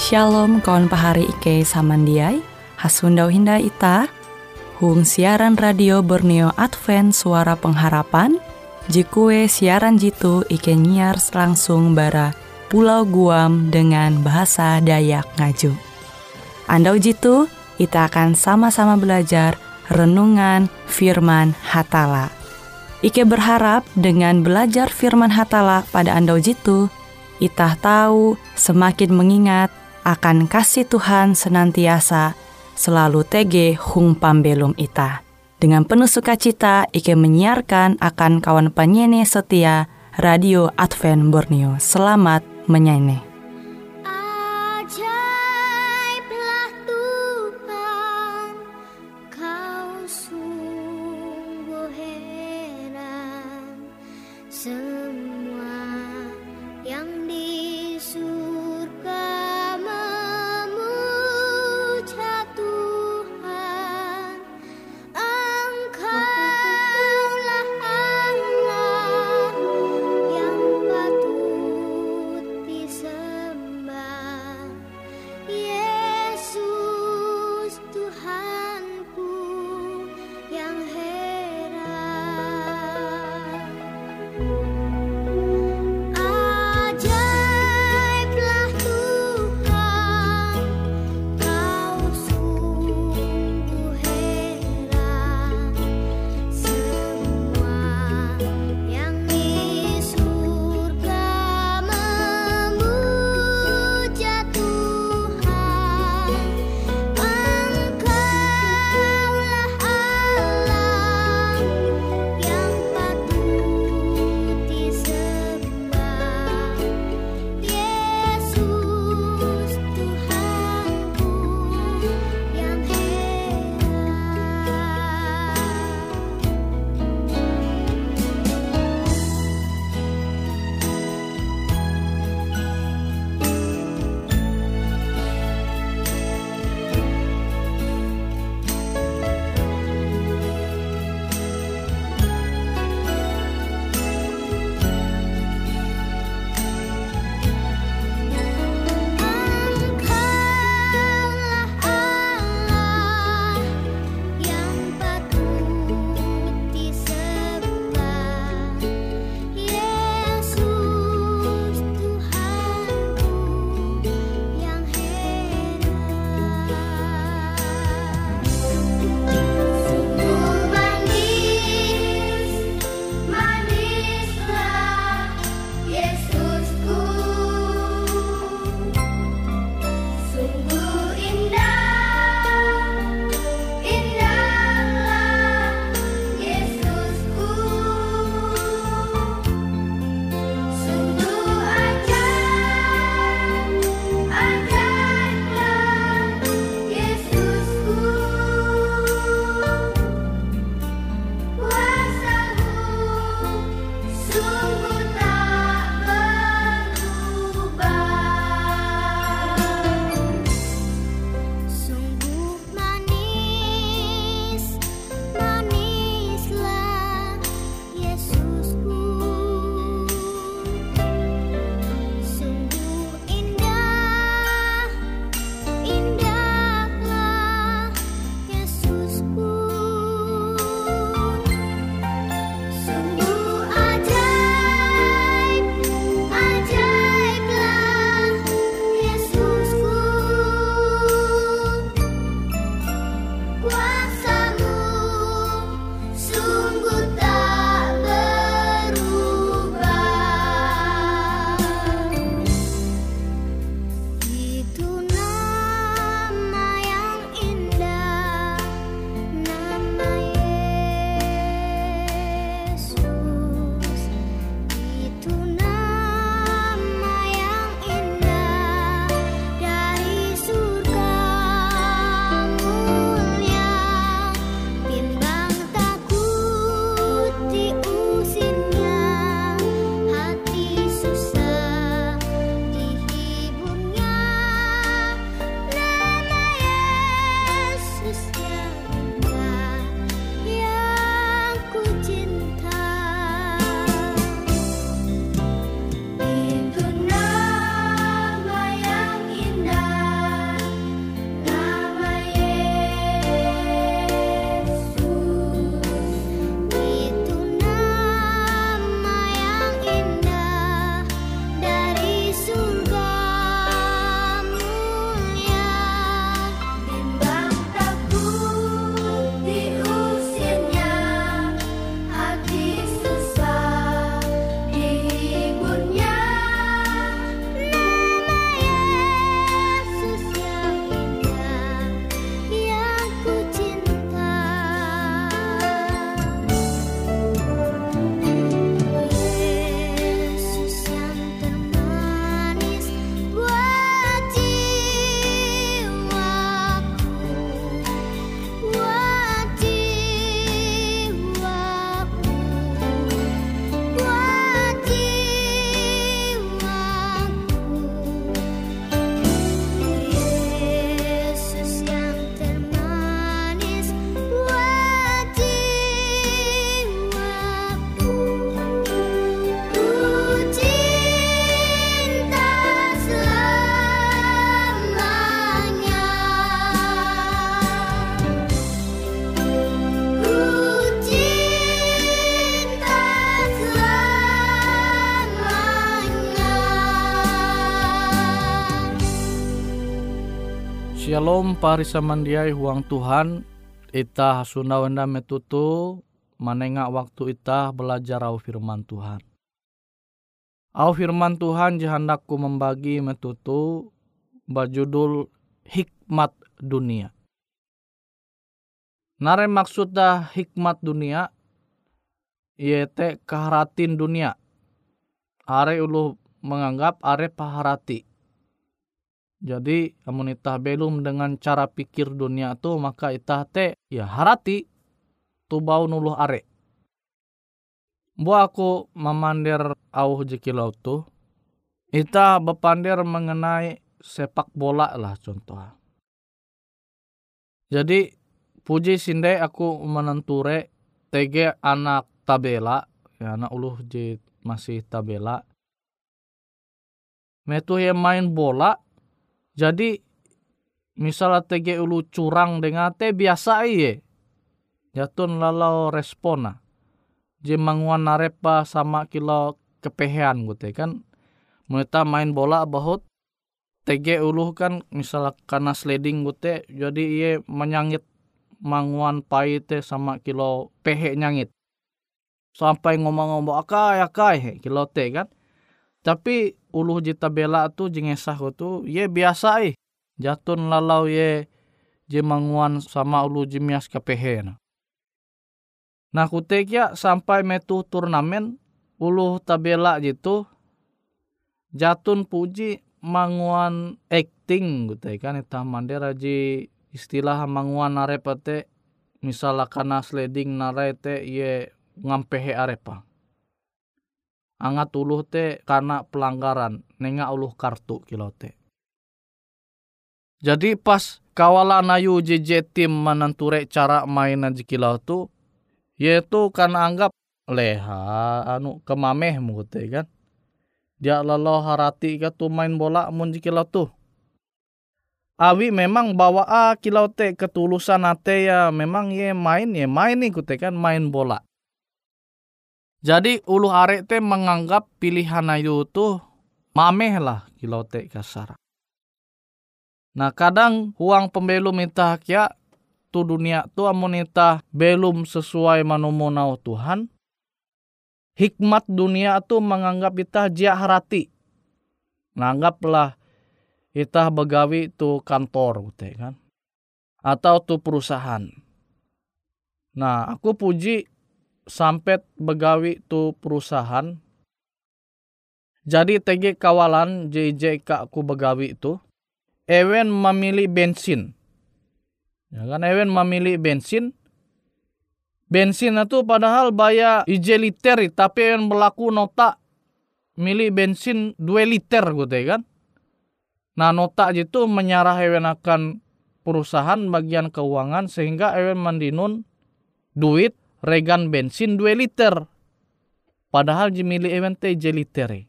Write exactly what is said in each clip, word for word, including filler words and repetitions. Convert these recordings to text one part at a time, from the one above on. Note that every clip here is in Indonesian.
Shalom kawan pahari Ike samandiai, hasundau hinda ita, hung siaran radio Borneo Advent Suara Pengharapan, jikue siaran jitu Ike nyiar langsung bara Pulau Guam dengan bahasa Dayak Ngaju. Andau jitu, kita akan sama-sama belajar renungan firman Hatala. Ike berharap dengan belajar firman Hatala pada andau jitu, itah tahu semakin mengingat akan kasih Tuhan senantiasa selalu tege hung pambelum ita. Dengan penuh sukacita, Ike menyiarkan akan kawan penyanyi setia Radio Advent Borneo. Selamat menyanyi. Shalom parisa mandiai huang Tuhan. Ita hasunda wenda metutu manenga waktu ita belajar au firman Tuhan. Au firman Tuhan jahandakku membagi metutu bajudul hikmat dunia. Nare maksudnya hikmat dunia yaitu keharatin dunia. Are ulu menganggap are paharati. Jadi amun itah belum dengan cara pikir dunia tu maka itah te ya harati tu bau nuluh are. Bu aku memandir au jekilau tu, itah bepandir mengenai sepak bola lah contoh. Jadi puji sinde aku menenture tege anak tabela, ya anak uluh je masih tabela. Metu yang main bola. Jadi misalnya tege ulu curang dengan te biasa iye. Jatun lalau respona. Je manguan narepa sama kilo kepehean gitu kan. Mereka main bola bahut. Tege ulu kan misalnya karena sliding gitu. Jadi iye menyangit manguan pai te sama kilo pehe nyangit. Sampai ngomong-ngomong akai akai kilo te kan. Tapi uluh jita bela tu jengesah tu ye biasa ih. Jatun lalau ye je manguan sama ulu jemias kepehe. Nah kutek ya sampai metu turnamen uluh tabela jitu jatun puji manguan acting gitu kan itah mandera ji istilah manguan arepate misalnya kana sliding narete ye ngampehe arepa. Angat uluh te karena pelanggaran nenga uluh kartu kilo te. Jadi pas kawalan ayu J J tim menenture cara mainan jikilau tu yaitu karena anggap leha anu kemameh mute kan. Dia lalau harati ka tu main bola mun jikilau tu. Awi memang bawa a kilau te ketulusan ate ya memang ye main ye main nih kute kan main bola. Jadi ulu arek te menganggap pilihan ayu tu mameh lah kilau te kasar. Nah kadang huang pembelum itah kia tu dunia tu amun itah belum sesuai manomonau Tuhan. Hikmat dunia tu menganggap itah jia harati. Nanggaplah itah begawi tu kantor gitu kan. Atau tu perusahaan. Nah aku puji sampai begawi tu perusahaan. Jadi T G kawalan J J K aku begawi itu. Ewen memilih bensin. Ya kan ewen memilih bensin. Bensin itu padahal bayar ije liter. Tapi ewen berlaku nota milih bensin dua liter gitu kan. Nah nota itu menyarah ewen akan perusahaan bagian keuangan. Sehingga ewen mandinun duit regan bensin dua liter. Padahal jemili ewen te ije liter.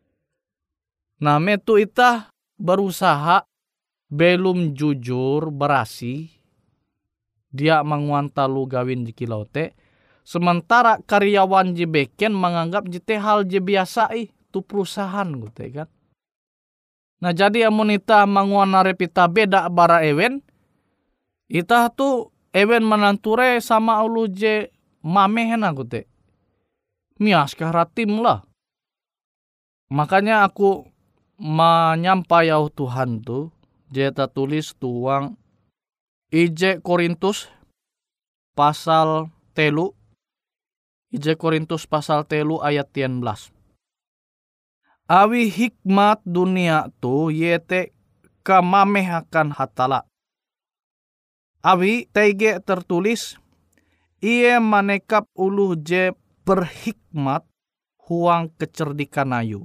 Nah metu itah berusaha belum jujur berasi. Dia menguantalu gawin jikilau te. Sementara karyawan jebeken menganggap jite hal je biasa ih. Tu perusahaan gitu kan. Nah jadi amun itah menguan narepita beda bara ewen. Itah tu ewen menanture sama ulu je mamehna gitu. Mias kahratim lah. Makanya aku menyampaikan Tuhan tu. Jeta tulis tuang Ije Korintus pasal telu. Ije Korintus pasal telu ayat tian belas. Awi hikmat dunia tu yete kamameh akan hatala. Awi tege tertulis ia manekap ulu je berhikmat huang kecerdikan ayu.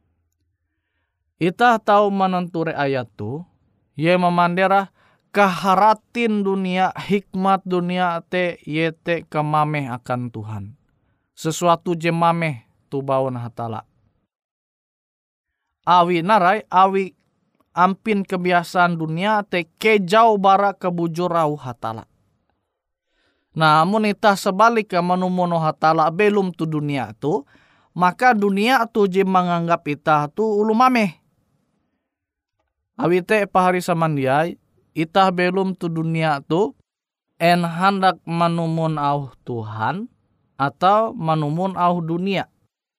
Itah tahu menenture ayat tu. Ye memandera kaharatin dunia, hikmat dunia te yete kemameh akan Tuhan. Sesuatu je mameh tu baun hatala. Awi narai, awi ampin kebiasaan dunia te kejau bara kebujurau hatala. Nah, amun itah sebalik ke manumono hatala belum tu dunia tu, maka dunia tu je menganggap itah tu ulu mameh. Awi te pahari samandiai, itah belum tu dunia tu en hendak manumun au Tuhan atau manumun au dunia.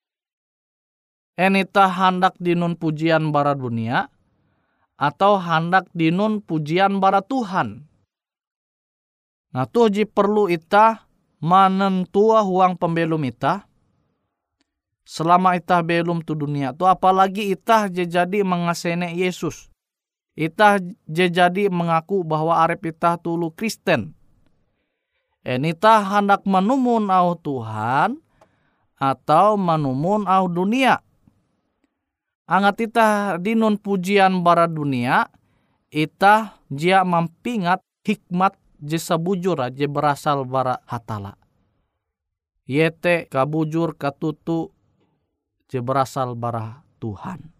En itah hendak dinun pujian bara dunia atau hendak dinun pujian bara Tuhan. Nah tuh ji perlu itah menentua huang pembelum itah. Selama itah belum tu dunia tu, apalagi itah je jadi mengasene Yesus. Itah je jadi mengaku bahwa arep itah tulu Kristen. En itah hendak menumun au Tuhan atau menumun au dunia. Angat itah dinun pujian bara dunia, itah jia mampingat hikmat je sabujur je berasal bara hatala. Yete kabujur katutu je berasal bara Tuhan.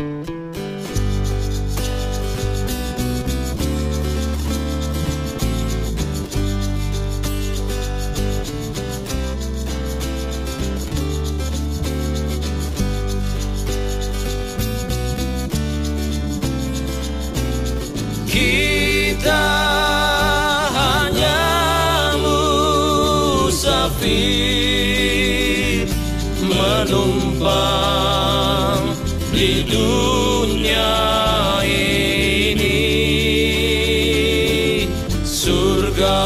Kita hanya musafir menumpang di dunia ini. Surga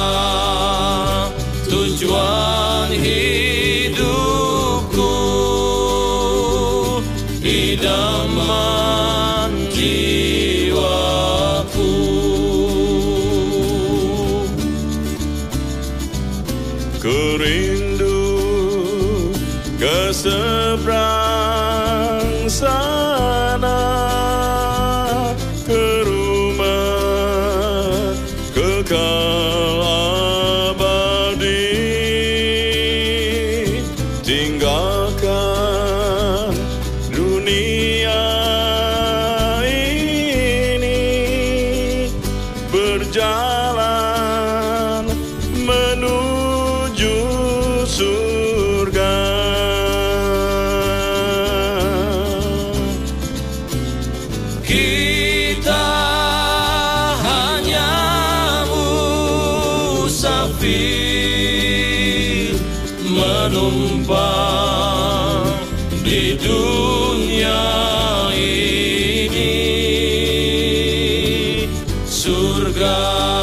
tujuan hidupku, idaman jiwaku. Kerindu ke seberang sana, ke rumah kekal abadi. Tinggalkan dunia ini, berjalan menuju surga. Kita hanya musafir menumpang di dunia ini. Surga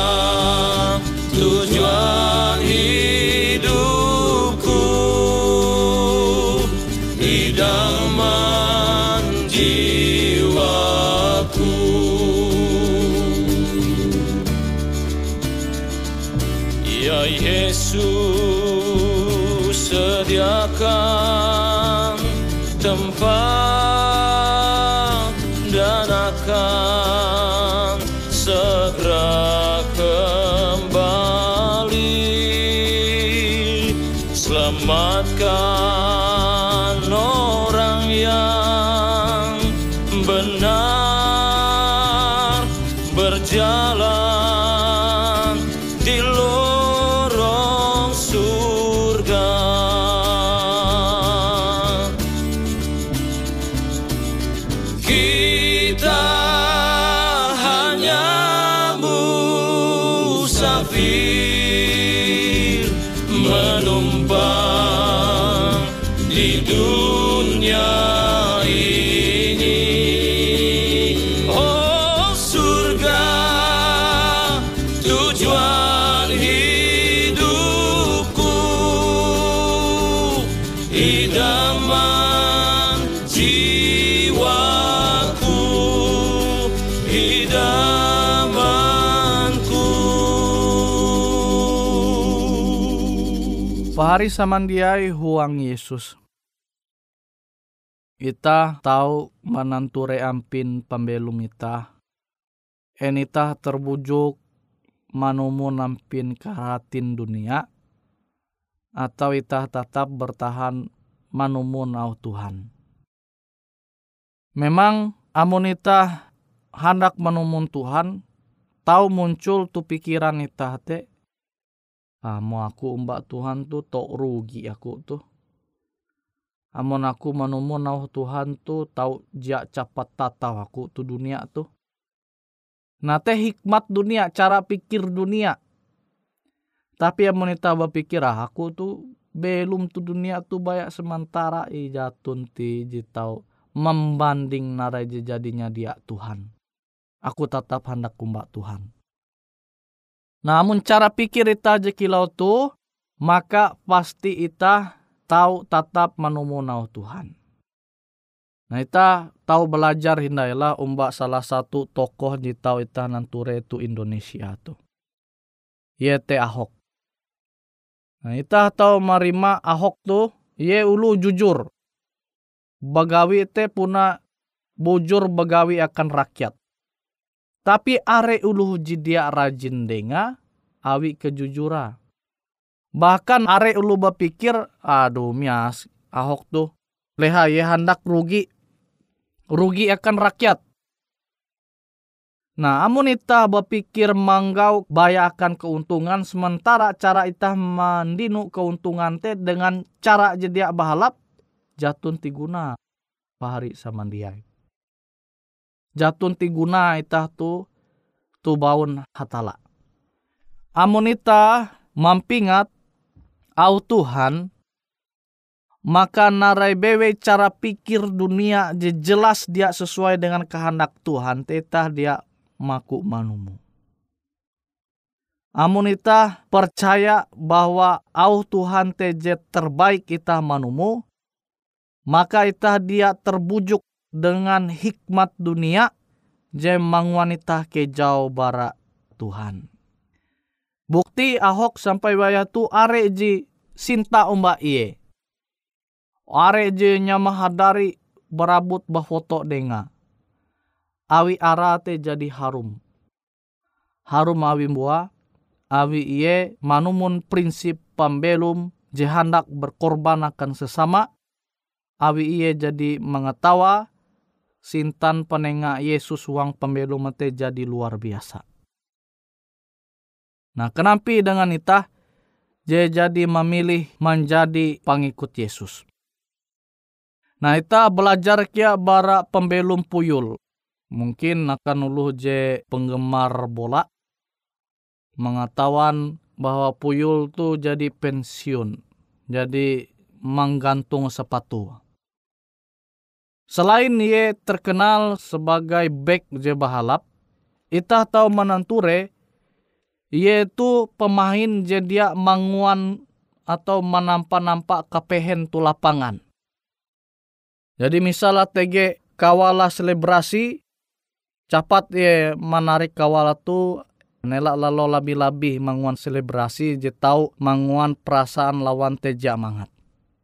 tujuan hidupku, idaman jiwaku. Ya Yesus, sediakan tempat dan akan segera kembali. Selamatkan orang yang benar berjalan di lorong surga. Kita hanya musafir menumpang di dunia ini. Oh surga tujuan hidupku, idaman jiwaku, idamanku. Pahari samandiai huang Yesus. Ita tahu mananture ampin pembelum ita. En ita terbujuk manumun ampin karatin dunia. Atau ita tetap bertahan manumun au Tuhan. Memang amun ita hendak manumun Tuhan, tahu muncul tu pikiran ita te, ah, mau aku mbak Tuhan tu tok rugi aku tuh. Amun aku manumun au Tuhan tu tahu jak capat tatau aku tu dunia tu. Nah teh hikmat dunia, cara pikir dunia. Tapi amun ita berpikir ah, aku tuh belum tuh dunia tuh banyak sementara i jatun ti jitau membanding narai jadinya dia Tuhan. Aku tetap hendak kumbak Tuhan. Namun cara pikir ita jekilau tuh, maka pasti ita tahu tetap menumunau Tuhan. Nah ita tahu belajar hindailah umbak salah satu tokoh di tahu ita nanture itu Indonesia tuh. Yete Ahok. Nah ita tahu marima Ahok tuh ye ulu jujur. Bagawi te puna bujur bagawi akan rakyat. Tapi are ulu jidia rajin denga awi kejujura. Bahkan are ulu berpikir, aduh mias Ahok tuh leha ye hendak rugi. Rugi akan rakyat. Nah, amun ita berpikir manggau baya akan keuntungan, sementara cara ita mandinu keuntungan te dengan cara jedia bahalap, jatun tiguna pahari samandiai. Jatun tiguna ita tu tu baun hatala. Amun ita mampingat au Tuhan, maka narai bewe cara pikir dunia je jelas dia sesuai dengan kehendak Tuhan, tetah dia maku manumu. Amun ita percaya bahwa au Tuhan teje terbaik ita manumu, maka ita dia terbujuk dengan hikmat dunia je mangwanita ke jauh bara Tuhan. Bukti Ahok sampai waya tu are ji sinta umba iye. Are je nyamahadari berabut bafoto denga. Awi arate jadi harum. Harum awi mua. Awi iye manumun prinsip pambelum je hendak berkorban akan sesama. Awi iye jadi mengetawa. Sintan penenga Yesus wang pembelum te jadi luar biasa. Nah kenampi dengan itah. Je jadi memilih menjadi pengikut Yesus. Nah ita belajar kia bara pembelum puyul. Mungkin akan uluh je penggemar bola. Mengetahuan bahwa puyul tu jadi pensiun. Jadi menggantung sepatu. Selain ia terkenal sebagai bek je bahalap. Ita tahu menanture. Ia tu pemain je dia manguan atau menampak-nampak kepehen tu lapangan. Jadi misalnya T G kawala selebrasi, cepat ye menarik kawala tu, nelak lalu lebih-lebih manguan selebrasi, je tahu manguan perasaan lawan teja mangat.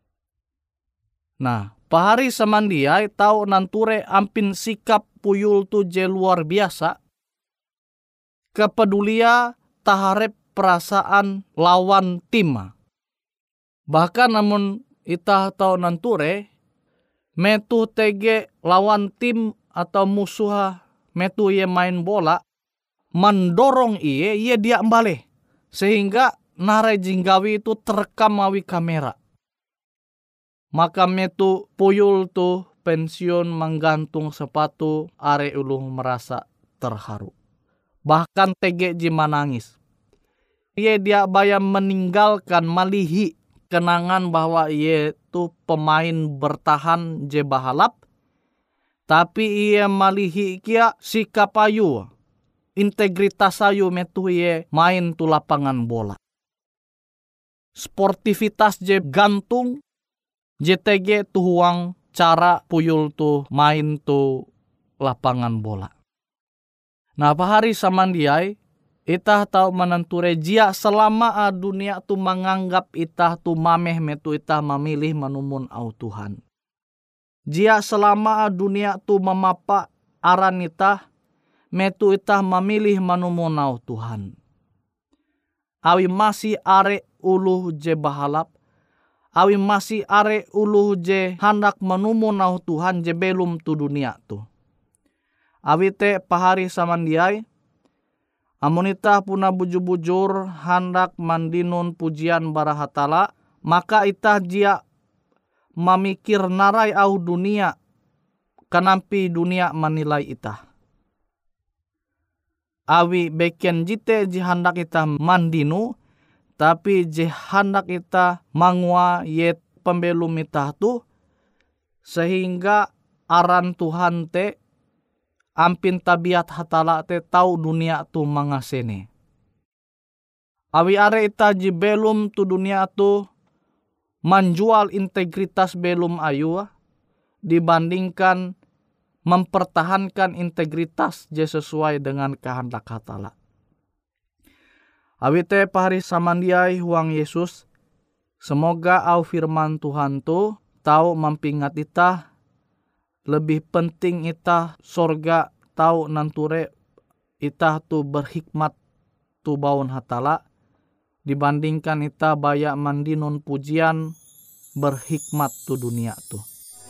Nah, pahari samandiai tahu nanture ampin sikap puyul tu je luar biasa. Kepedulia taharep perasaan lawan tim. Bahkan namun ita tahu nanture, metu T G lawan tim atau musuh metu ye main bola mendorong iye iye dia embale sehingga narai jinggawi itu terekam awi kamera. Maka metu puyul tu pensiun menggantung sepatu are ulu merasa terharu. Bahkan T G jima nangis. Iye dia bayam meninggalkan malihi kenangan bahwa ia tu pemain bertahan je bahalap. Tapi ia malihi kia sikap ayu. Integritas ayu metu ia main tu lapangan bola. Sportivitas je gantung. J T G tu huang cara puyul tu main tu lapangan bola. Nah pahari samandiai. Itah tahu menenture jia selama a dunia tu menganggap itah tu mameh metu itah memilih menumun au Tuhan. Jia selama a dunia tu memapa aran itah metu itah memilih menumun au Tuhan. Awi masih are uluh je bahalap. Awi masih are uluh je hendak menumun au Tuhan je belum tu dunia tu. Awi te pahari samandiai. Amun itah puna bujur-bujur hendak mandinun pujian barahatala, maka itah jia memikir narai au dunia, kenampi dunia menilai itah. Awi beken jite jihandak kita mandinu, tapi jihandak kita mangua yet pembelum ita tu, sehingga aran Tuhan te ampin tabiat hatala te tau dunia tu mangasene. Awi are ita ji belum tu dunia tu menjual integritas belum ayu dibandingkan mempertahankan integritas je sesuai dengan kehendak hatala. Awi te pahari samandiai huang Yesus, semoga au firman Tuhan tu tau mampingat ita lebih penting ita sorga tau nanture ita tu berhikmat tu baun hatala dibandingkan ita bayak mandinun pujian berhikmat tu dunia tu.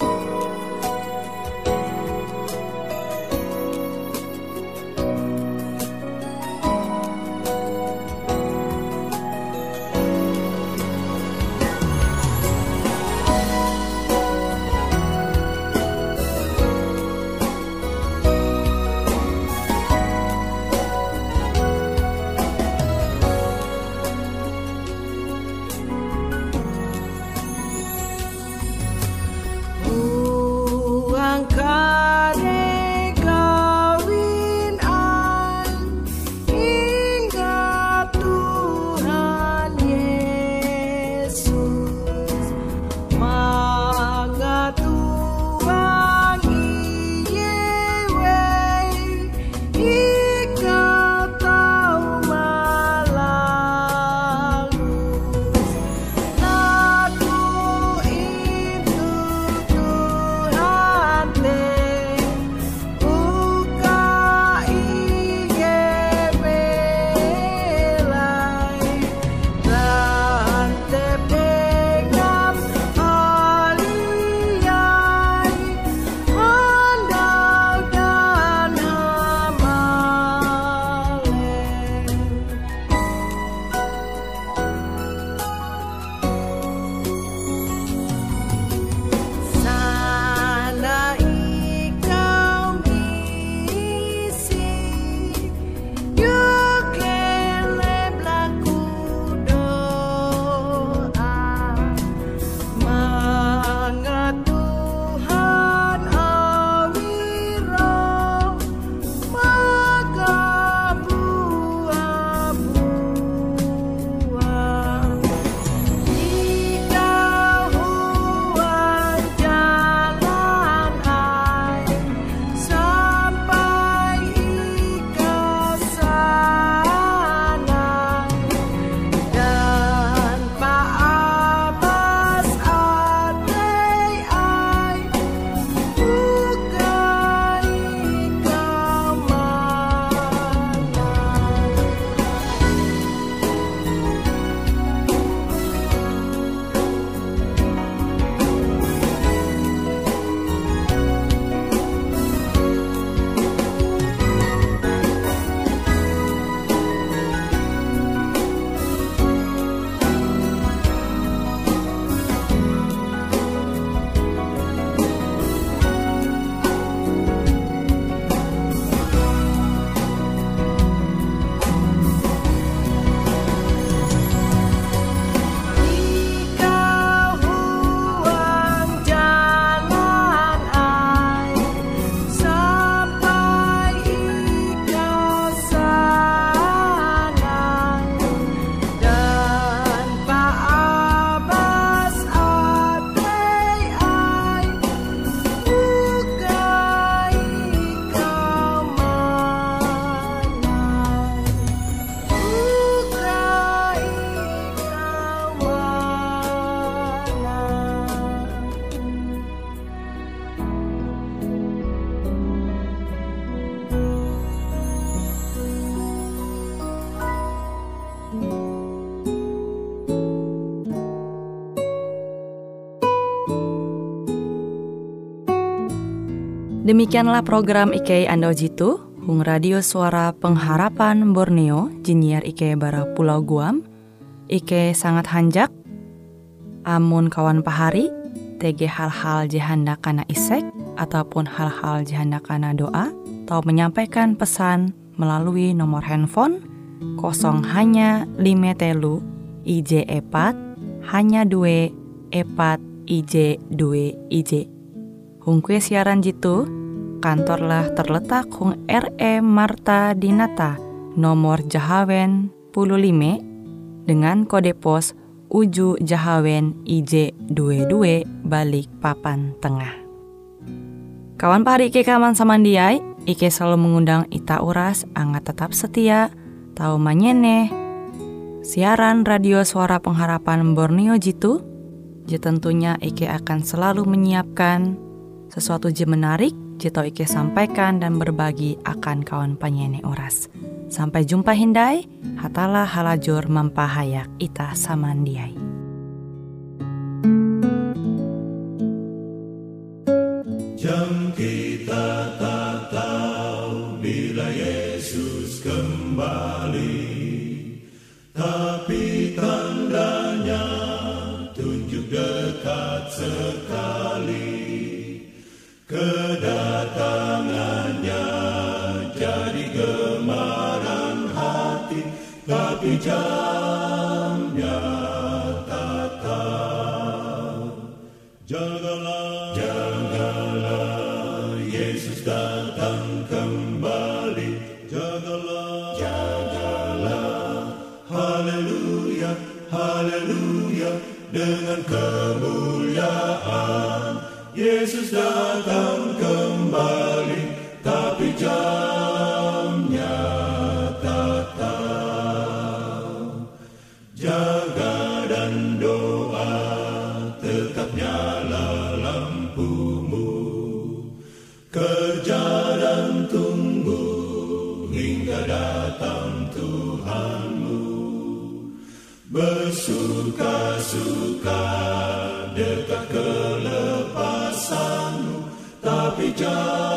Demikianlah program I K Ando Jitu, Hung Radio Suara Pengharapan Borneo, Jinnyar I K Bara Pulau Guam, I K sangat hanjak, amun kawan pahari, T G hal-hal jihanda kana isek, ataupun hal-hal jihanda kana doa, atau menyampaikan pesan melalui nomor handphone kosong hanya lima telu I J epat hanya dua epat I J dua I J. Hung kue siaran jitu kantorlah terletak hung R E Marta Dinata nomor Jahawen puluh lima dengan kode pos Uju Jahawen I J dua dua Balikpapan Tengah. Kawan pahari Ike kaman samandiai, Ike selalu mengundang ita uras angga tetap setia tahu manyene siaran radio Suara Pengharapan Borneo jitu. Je tentunya Ike akan selalu menyiapkan sesuatu je menarik jito Ike sampaikan dan berbagi akan kawan penyanyi oras. Sampai jumpa hindai, hatalah halajur mempahayak ita samandiai. Jam kita tak tahu bila Yesus kembali, tapi tandanya tunjuk dekat sekali. Kedatangannya jadi gemaran hati, tapi jamnya tak tahu. Jagalah, jagalah, Yesus datang kembali. Jagalah, jagalah, haleluya, haleluya, dengan kemuliaan. Yesus datang kembali, tapi jamnya tak tahu. Jaga dan doa, tetap nyala lampumu. Kerja dan tunggu hingga datang Tuhanmu. Bersuka-suka dekat kelepasanmu, tapi jangan